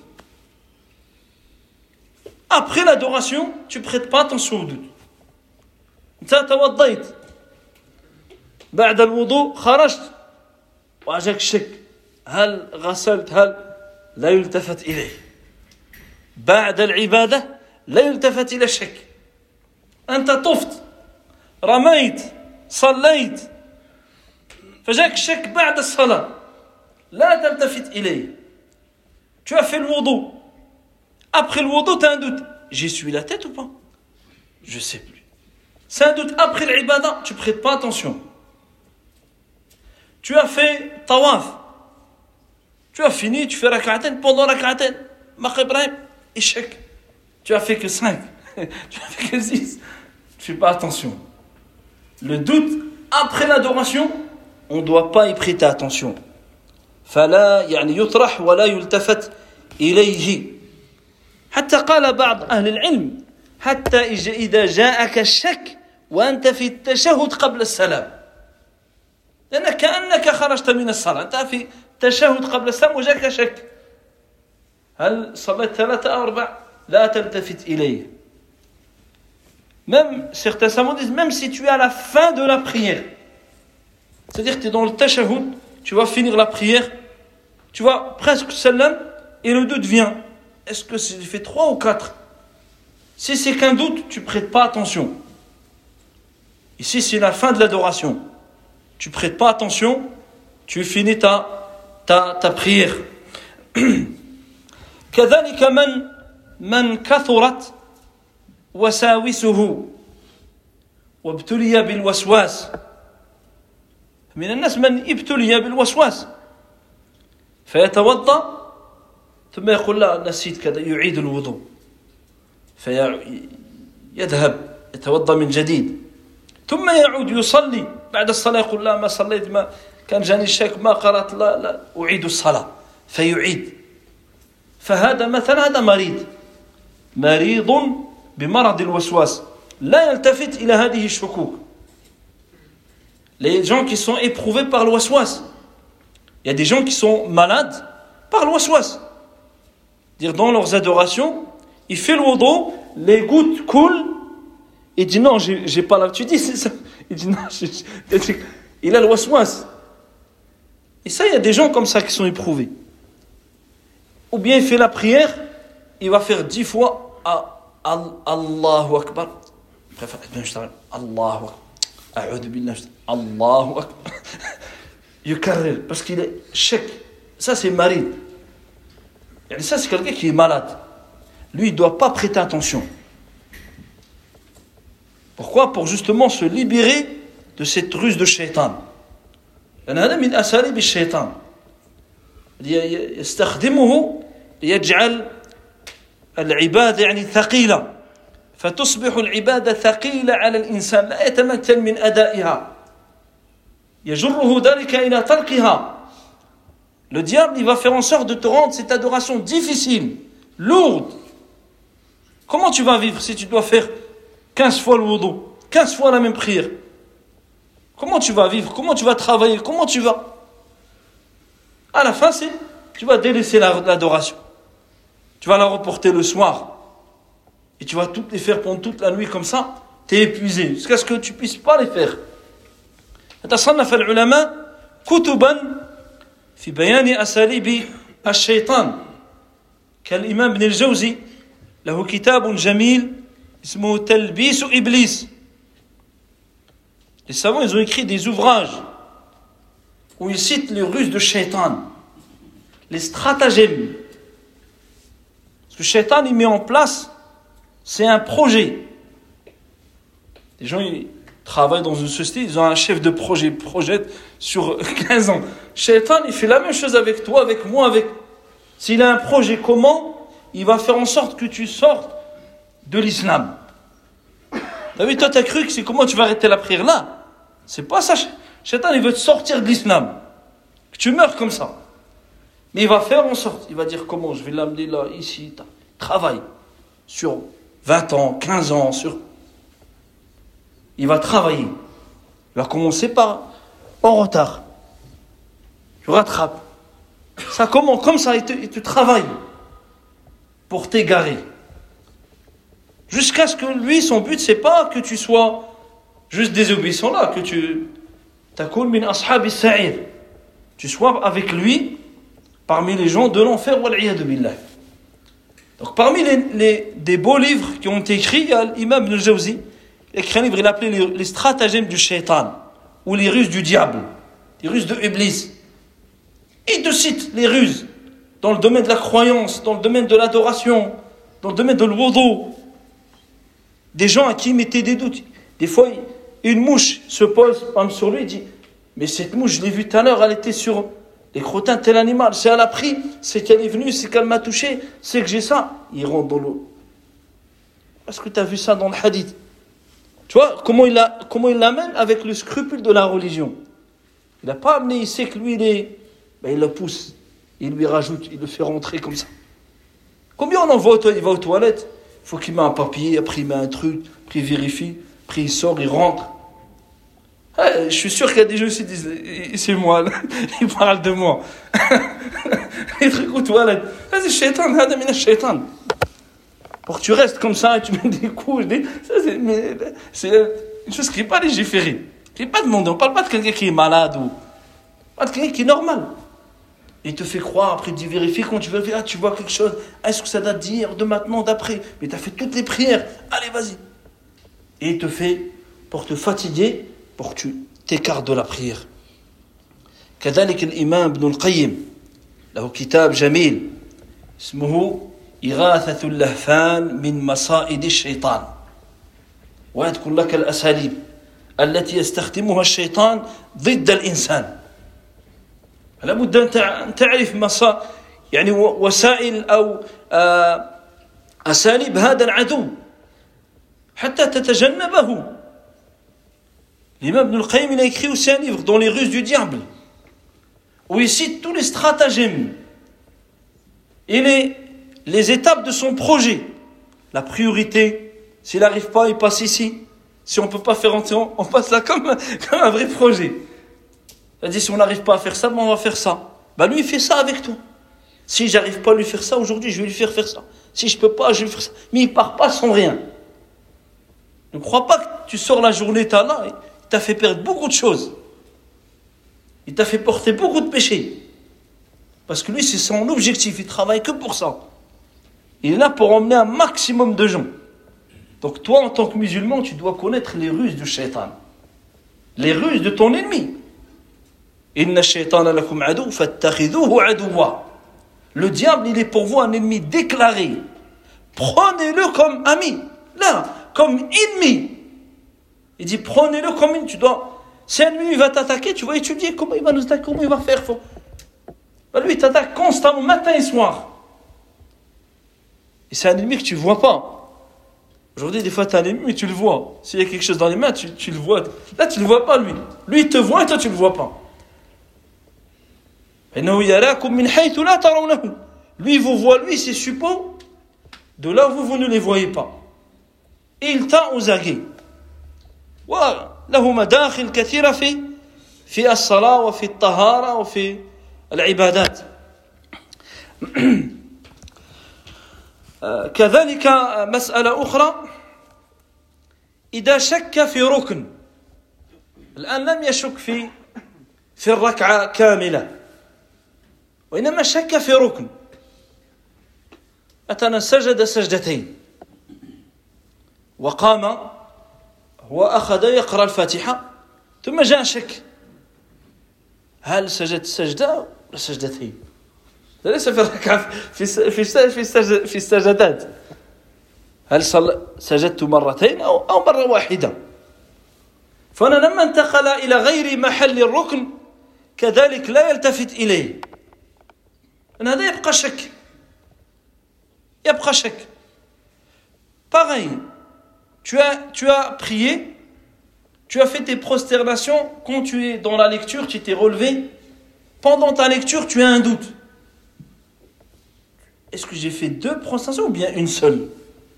Après l'adoration, tu ne prêtes pas attention au doute. انت توضيت بعد الوضوء خرجت واجاك شك هل غسلت هل لا يلتفت إليه بعد العبادة لا يلتفت إلى الشك أنت طفت رميت صليت فجاك الشك بعد الصلاة لا تلتفت إليه. Tu as fait le wudu. Après le wudu, tu as un doute. J'y suis la tête ou pas? Je sais plus. C'est un doute. Après l'ibada, tu ne prêtes pas attention. Tu as fait tawaf. Tu as fini, tu fais rak'aten. Pendant rak'aten, Maghrib Ibrahim, échec. Tu as fait que 5. Tu as fait que 6. Tu ne fais pas attention. Le doute, après l'adoration, on ne doit pas y prêter attention. فلا يعني يطرح ولا يلتفت إليه. حتى قال بعض أهل العلم حتى إذا جاءك الشك وأنت في التشهد قبل السلام لأنك كأنك خرجت من الصلاة أنت في التشهد قبل السلام وجاك شك هل صليت 3 أو 4 لا تلتفت إليه. Même certains savants disent même si tu es à la fin de la prière, c'est-à-dire que tu es dans le tashahhud, tu vas finir la prière, tu vas presque salam et le doute vient. Est-ce que j'ai fait 3 ou 4? Si c'est qu'un doute, tu ne prêtes pas attention. Ici, c'est la fin de l'adoration. Tu ne prêtes pas attention, tu finis ta prière. كذلك من كثرت وساوسه وابتلي بالوسواس. من الناس من ابتلي بالوسواس فيتوضأ ثم يقول لا نسيت كذا يعيد الوضوء فيذهب يتوضأ من جديد ثم يعود يصلي بعد الصلاة يقول لا ما صليت ما كان جاني الشك ما قرأت لا أعيد الصلاة فيعيد. فهذا مثلا هذا مريض بمرض الوسواس لا يلتفت إلى هذه الشكوك. Les gens qui sont éprouvés par le waswas. Il y a des gens qui sont malades par le waswas. Dire dans leurs adorations, il fait le wudu, les gouttes coulent, il dit non, j'ai pas l'habitude. Tu dis c'est ça. Il dit non, il a le waswas. Et ça, il y a des gens comme ça qui sont éprouvés. Ou bien il fait la prière, il va faire 10 fois Allahu Akbar. Allahu Akbar. أعوذ بالله الله أكبر يكرر parce qu'il est chèque. Ça c'est maride. Et ça c'est quelqu'un qui est malade. Lui il ne doit pas prêter attention. Pourquoi? Pour justement se libérer de cette ruse de shaitan. هذا من أساليب الشيطان يستخدمه ليجعل العبادة يعني ثقيلة فتصبح العبادة ثقيلة على الإنسان لا يتمكن من أدائها يجره ذلك إلى تركها. Le diable il va faire en sorte de te rendre cette adoration difficile, lourde. Comment tu vas vivre si tu dois faire 15 fois le wudu, 15 fois la même prière? Comment tu vas vivre? Comment tu vas travailler? Comment tu vas? À la fin, tu vas délaisser l'adoration. Tu vas la reporter le soir. Et tu vas toutes les faire pendant toute la nuit comme ça, tu es épuisé, jusqu'à ce que tu ne puisses pas les faire. تصنف العلماء كتبا في بيان أساليب الشيطان كالإمام ابن الجوزي له كتاب جميل اسمه تلبيس إبليس. Les savants ils ont écrit des ouvrages où ils citent les ruses de Shaitan, les stratagèmes. Parce que Shaitan il met en place, c'est un projet. Les gens ils travaillent dans une société, ils ont un chef de projet, projette sur 15 ans. Shaitan il fait la même chose avec toi, avec moi, avec. S'il a un projet comment, il va faire en sorte que tu sortes de l'islam. T'as vu, toi t'as cru que c'est comment tu vas arrêter la prière là? C'est pas ça. Shaitan il veut te sortir de l'islam, que tu meurs comme ça. Mais il va faire en sorte, il va dire comment je vais l'amener là, ici, Travaille. Sur 20 ans, 15 ans, il va travailler. Il va commencer par en retard. Tu rattrapes. Ça commence comme ça, il te travaille pour t'égarer. Jusqu'à ce que lui, son but, c'est pas que tu sois juste désobéissant là, que tu takun min ashabi sa'ir. Tu sois avec lui parmi les gens de l'enfer, wal-'iyadu billah. Donc parmi des beaux livres qui ont été écrits, il y a l'imam Ibn al-Jawzi, il a écrit un livre, il a appelé les stratagèmes du shaitan, ou les ruses du diable, les ruses de Iblis. Il te cite les ruses dans le domaine de la croyance, dans le domaine de l'adoration, dans le domaine de l'wudu. Des gens à qui il mettait des doutes. Des fois, une mouche se pose sur lui et dit « Mais cette mouche, je l'ai vue tout à l'heure, elle était sur les crottins de tel animal. C'est elle a pris, c'est qu'elle est venue, c'est qu'elle m'a touché, c'est que j'ai ça. » Il rentre dans l'eau. Est-ce que tu as vu ça dans le hadith? Tu vois comment il l'amène avec le scrupule de la religion. Il n'a pas amené, il sait que lui, il le pousse. Il lui rajoute, il le fait rentrer comme ça. Combien on en voit, il va aux toilettes? Il faut qu'il mette un papier, après il met un truc, après il vérifie, après il sort, il rentre. Je suis sûr qu'il y a des gens qui disent, c'est moi, ils parlent de moi. Les trucs aux toilettes. C'est le shaitan, c'est le shaitan. Pour que tu restes comme ça et tu mets des coups, c'est une chose qui n'est pas légiférée, qui n'est pas demandée. On ne parle pas de quelqu'un qui est malade ou pas de quelqu'un qui est normal. Il te fait croire, après il te dit vérifie, quand tu vérifies, tu vois quelque chose, est-ce que ça date d'hier, de maintenant, d'après? Mais tu as fait toutes les prières, allez vas-y. Et il te fait, pour te fatiguer, pour que tu t'écartes de la prière. كذلك الإمام ابن القيم له كتاب جميل اسمه إغاثة اللهفان من مصائد الشيطان ويذكر لك الأساليب التي يستخدمها الشيطان ضد الإنسان. لابد أن تعرف يعني وسائل أو أساليب هذا العدو حتى تتجنبه. L'imam Ibn al-Qayyim, il a écrit aussi un livre dans les ruses du diable où il cite tous les stratagèmes et les étapes de son projet. La priorité, s'il n'arrive pas, il passe ici. Si on ne peut pas faire entrer, on passe là comme un vrai projet. C'est-à-dire, si on n'arrive pas à faire ça, on va faire ça. Lui, il fait ça avec toi. Si j'arrive pas à lui faire ça aujourd'hui, je vais lui faire ça. Si je peux pas, je vais lui faire ça. Mais il part pas sans rien. Ne crois pas que tu sors la journée, t'as là, il t'a fait perdre beaucoup de choses. Il t'a fait porter beaucoup de péchés. Parce que lui, c'est son objectif, il travaille que pour ça. Il est là pour emmener un maximum de gens. Donc toi, en tant que musulman, tu dois connaître les ruses du shaitan. Les ruses de ton ennemi. Inna shaytana lakum adu fattakhidhuhu aduwa. Le diable, il est pour vous un ennemi déclaré. Prenez-le comme ami. Là, comme ennemi. Il dit, prenez-le comme ennemi. Tu dois... Si un ennemi va t'attaquer, tu vas étudier comment il va nous attaquer, comment il va faire. Lui, il t'attaque constamment, matin et soir. Et c'est un ennemi que tu ne vois pas. Aujourd'hui, des fois, tu as un ennemi, mais tu le vois. S'il y a quelque chose dans les mains, tu le vois. Là, tu ne le vois pas, lui. Lui, il te voit et toi, tu ne le vois pas. Lui, il vous voit, lui, c'est suppos. De là où vous ne les voyez pas. Et il t'a aux aguets. وله مداخل كثيرة في الصلاة وفي الطهارة وفي العبادات. كذلك مسألة أخرى إذا شك في ركن الآن لم يشك في الركعة كاملة وإنما شك في ركن مثلا سجد سجدتين وقام وأخذ يقرأ الفاتحة ثم جاء شك هل سجد سجدة ولا سجدتين؟ ليس في الركعة في السجدات هل سجدت مرتين أو مرة واحدة؟ فأنا لما انتقل إلى غير محل الركن كذلك لا يلتفت إليه أن هذا يبقى شك. Pareil, tu as prié, tu as fait tes prosternations, quand tu es dans la lecture, tu t'es relevé, pendant ta lecture, tu as un doute. est-ce que j'ai fait 2 prostrations ou bien une seule?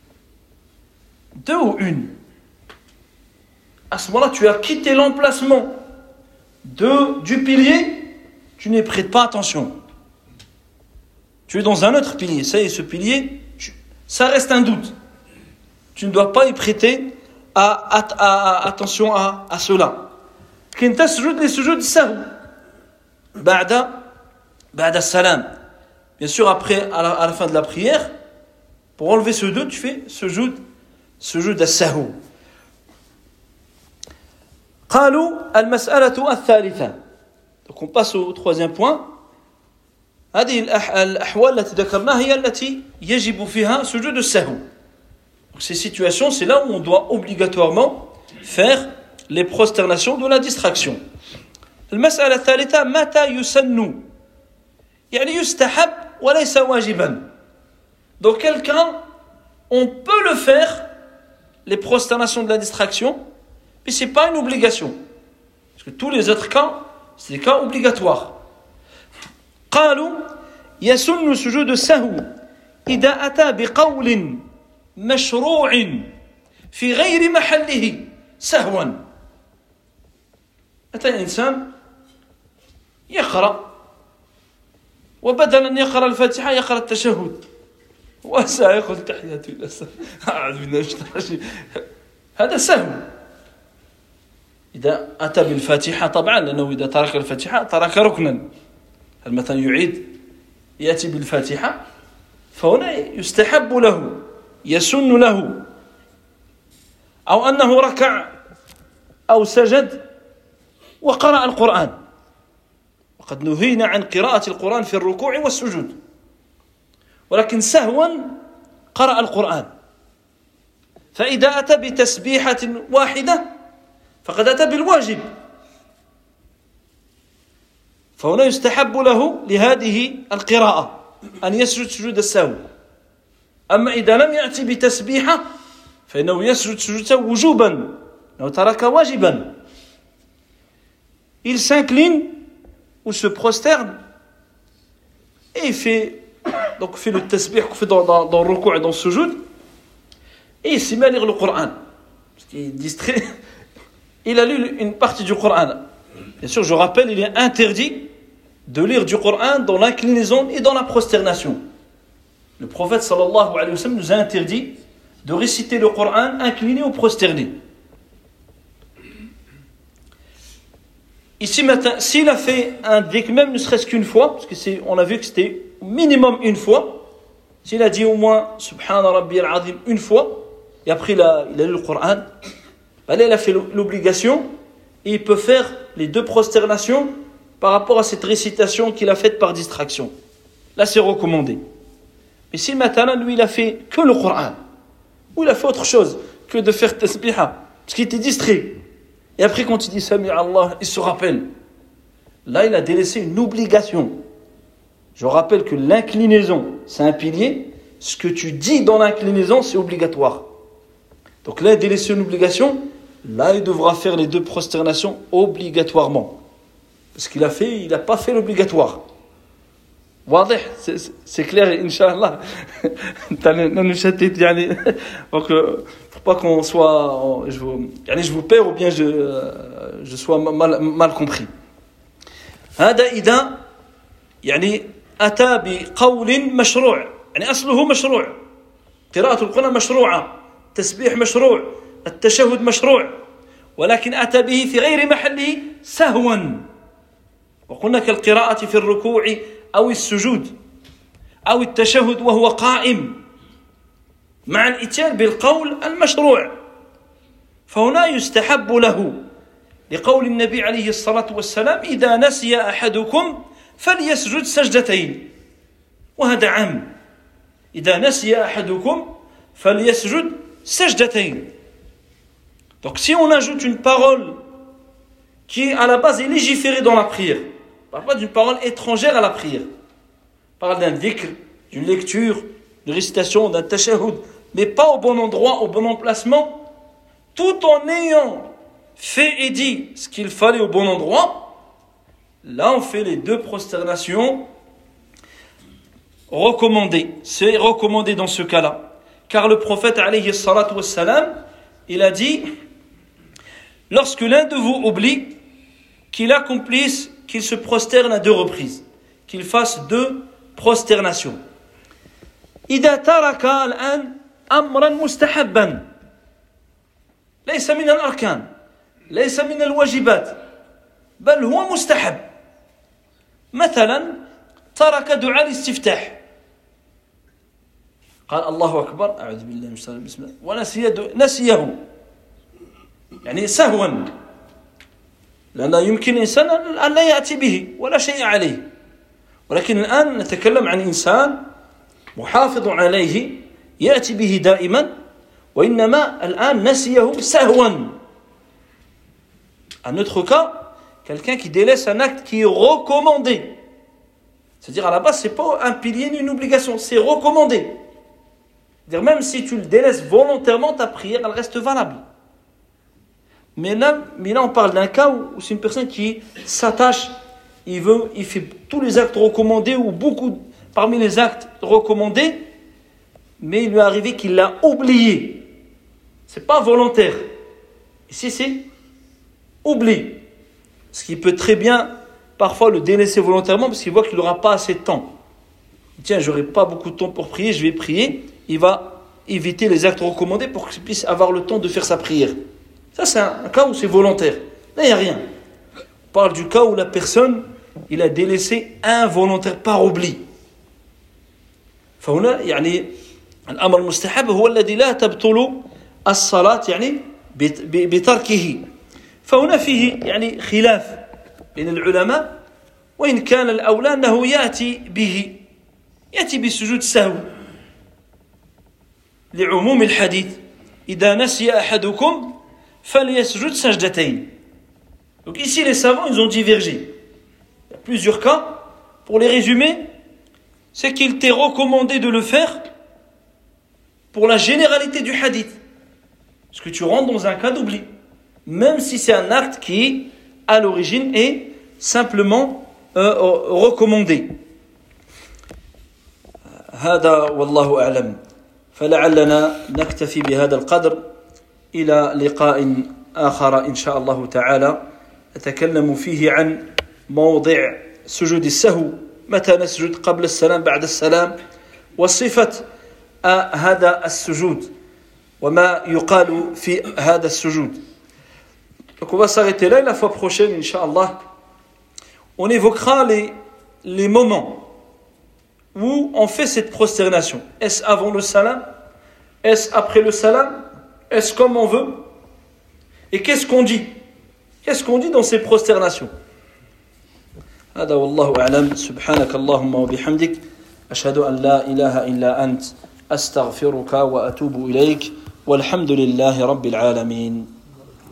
2 ou une? À ce moment-là, tu as quitté l'emplacement du pilier, tu n'y prêtes pas attention. Tu es dans un autre pilier. Ça y est, ce pilier, ça reste un doute. Tu ne dois pas y prêter attention à cela. Quand tasjud les sujud sahou, ba'da salam. Bien sûr, après, à la fin de la prière, pour enlever ce doute, tu fais sujud as-sahou. قالوا المسألة الثالثة. Donc on passe au 3e point. هذه الأحوال التي ذكرناها هي التي يجب فيها سجود السهو. Donc ces situations, c'est là où on doit obligatoirement faire les prosternations de la distraction. المسألة الثالثة متى يسن يعني يستحب وليس واجبا. Donc quel cas on peut le faire, les prosternations de la distraction, mais ce n'est pas une obligation. Parce que tous les autres cas, c'est des cas obligatoires. قالوا يسن سجود السهو إذا أتى بقول مشروع في غير محله سهوا. أتى الإنسان يقرأ وبدل أن يقرأ الفاتحة يقرأ التشهد وسيقول تحياتي لله أعوذ بالله من الشيطان الرجيم. هذا سهو. إذا أتى بالفاتحة طبعا، لأنه إذا ترك الفاتحة ترك ركنا. هل مثلا يأتي بالفاتحة، فهنا يستحب له، يسن له. أو أنه ركع أو سجد وقرأ القرآن، وقد نهينا عن قراءة القرآن في الركوع والسجود، ولكن سهوا قرأ القرآن. فإذا أتى بتسبيحة واحدة فقد أتى بالواجب، فهنا يستحب له لهذه القراءة أن يسجد سجود السهو. أما إذا لم يأتي بتسبيحة فإنه يسجد سجود السهو وجوبا، لأنه ترك واجبا. Il s'incline ou se prosterne et il fait le tasbih qu'on fait dans le ruku' et dans le sujoud, et il s'y met à lire le Coran. Parce qu'il est distrait. Il a lu une partie du Coran. Bien sûr, je rappelle, il est interdit de lire du Coran dans l'inclinaison et dans la prosternation. Le prophète sallallahu alayhi wa sallam nous a interdit de réciter le Coran incliné ou prosterné. Ici maintenant, s'il a fait un dhikr, même ne serait-ce qu'une fois, parce que on a vu que c'était au minimum une fois, s'il a dit au moins Subhana Rabbi al-Azim une fois, et après il a lu le Coran, là il a fait l'obligation, et il peut faire les 2 prosternations par rapport à cette récitation qu'il a faite par distraction. Là c'est recommandé. Mais si maintenant lui il a fait que le Coran, ou il a fait autre chose que de faire tasbiha, parce qu'il était distrait, et après quand il dit Sami Allah, il se rappelle, là il a délaissé une obligation. Je rappelle que l'inclinaison c'est un pilier, ce que tu dis dans l'inclinaison c'est obligatoire. Donc là il a délaissé une obligation, là il devra faire les 2 prosternations obligatoirement. Parce qu'il n'a pas fait l'obligatoire. واضح, c'est clair, Inch'Allah. Donc, faut pas qu'on soit, je vous perds ou bien je sois mal compris. هذا إذا يعني أتى بقول مشروع، يعني أصله مشروع، قراءة القرآن مشروعة، تسبيح مشروع، التشهد مشروع، ولكن أتى به في غير محله سهوا، وقلنا كالقراءة في الركوع أو السجود أو التشهد وهو قائم مع الإتيان بالقول المشروع، فهنا يستحب له لقول النبي عليه الصلاة والسلام إذا نسي أحدكم فليسجد سجدتين، وهذا عام، إذا نسي أحدكم فليسجد سجدتين. Donc si on ajoute une parole qui à la base est légiférée dans la prière, on ne parle pas d'une parole étrangère à la prière, on parle d'un dhikr, d'une lecture, d'une récitation, d'un tashahhud, mais pas au bon endroit, au bon emplacement, tout en ayant fait et dit ce qu'il fallait au bon endroit, là on fait les 2 prosternations recommandé. C'est recommandé dans ce cas-là. Car le prophète, alayhi salatu wassalam, il a dit, lorsque l'un de vous oublie, qu'il accomplisse, qu'il se prosterne à 2 reprises, qu'il fasse 2 prosternations. إذا ترك الآن أمرا مستحبا ليس من الأركان ليس من الواجبات بل هو مستحب مثلا ترك دعاء الاستفتاح قال الله أكبر أعوذ بالله من الشيطان بسم الله ونسيه يعني سهوا لأن يمكن الإنسان أن لا يأتي به ولا شيء عليه ولكن الآن نتكلم عن إنسان محافظ عليه يأتي به دائما وإنما الآن نسيه سهوا. Un autre cas, quelqu'un qui délaisse un acte qui est recommandé. C'est-à-dire à la base, c'est pas un pilier ni une obligation, c'est recommandé. C'est-à-dire même si tu le délaisses volontairement, ta prière, elle reste valable. Mais là on parle d'un cas où c'est une personne qui s'attache, il fait tous les actes recommandés ou beaucoup parmi les actes recommandés, mais il lui est arrivé qu'il l'a oublié. C'est pas volontaire. Ici, c'est oubli. Ce qui peut très bien, parfois, le délaisser volontairement parce qu'il voit qu'il n'aura pas assez de temps. Tiens, j'aurai pas beaucoup de temps pour prier, je vais prier. Il va éviter les actes recommandés pour qu'il puisse avoir le temps de faire sa prière. Ça, c'est un cas où c'est volontaire. Là, il n'y a rien. On parle du cas où la personne, il a délaissé involontaire par oubli. فهنا يعني الأمر المستحب هو الذي لا تبطل الصلاة يعني بتركه. فهنا فيه يعني خلاف بين العلماء وإن كان الأولى أنه يأتي بسجود السهو لعموم الحديث إذا نسي أحدكم فليسجد سجدتين. Donc ici les savants ils ont divergé. Il y a plusieurs cas. Pour les résumer, c'est qu'il t'est recommandé de le faire pour la généralité du hadith. Parce que tu rentres dans un cas d'oubli. Même si c'est un acte qui, à l'origine, est simplement recommandé. هذا والله أعلم. فلعلنا نكتفي بهذا القدر إلى لقاء آخر إن شاء الله تعالى نتكلم فيه عن موضع سجود السهو متى نسجد قبل السلام بعد السلام وصفة هذا السجود وما يقال في هذا السجود. Donc on va s'arrêter là et la fois prochaine Inch'Allah on évoquera les moments où on fait cette prosternation. Est-ce avant le salam? Est-ce après le salam? Est-ce comme on veut? Et qu'est-ce qu'on dit? Qu'est-ce qu'on dit dans ces prosternations? هذا والله أعلم. سبحانك اللهم وبحمدك أشهد أن لا إله إلا أنت أستغفرك وأتوب إليك والحمد لله رب العالمين.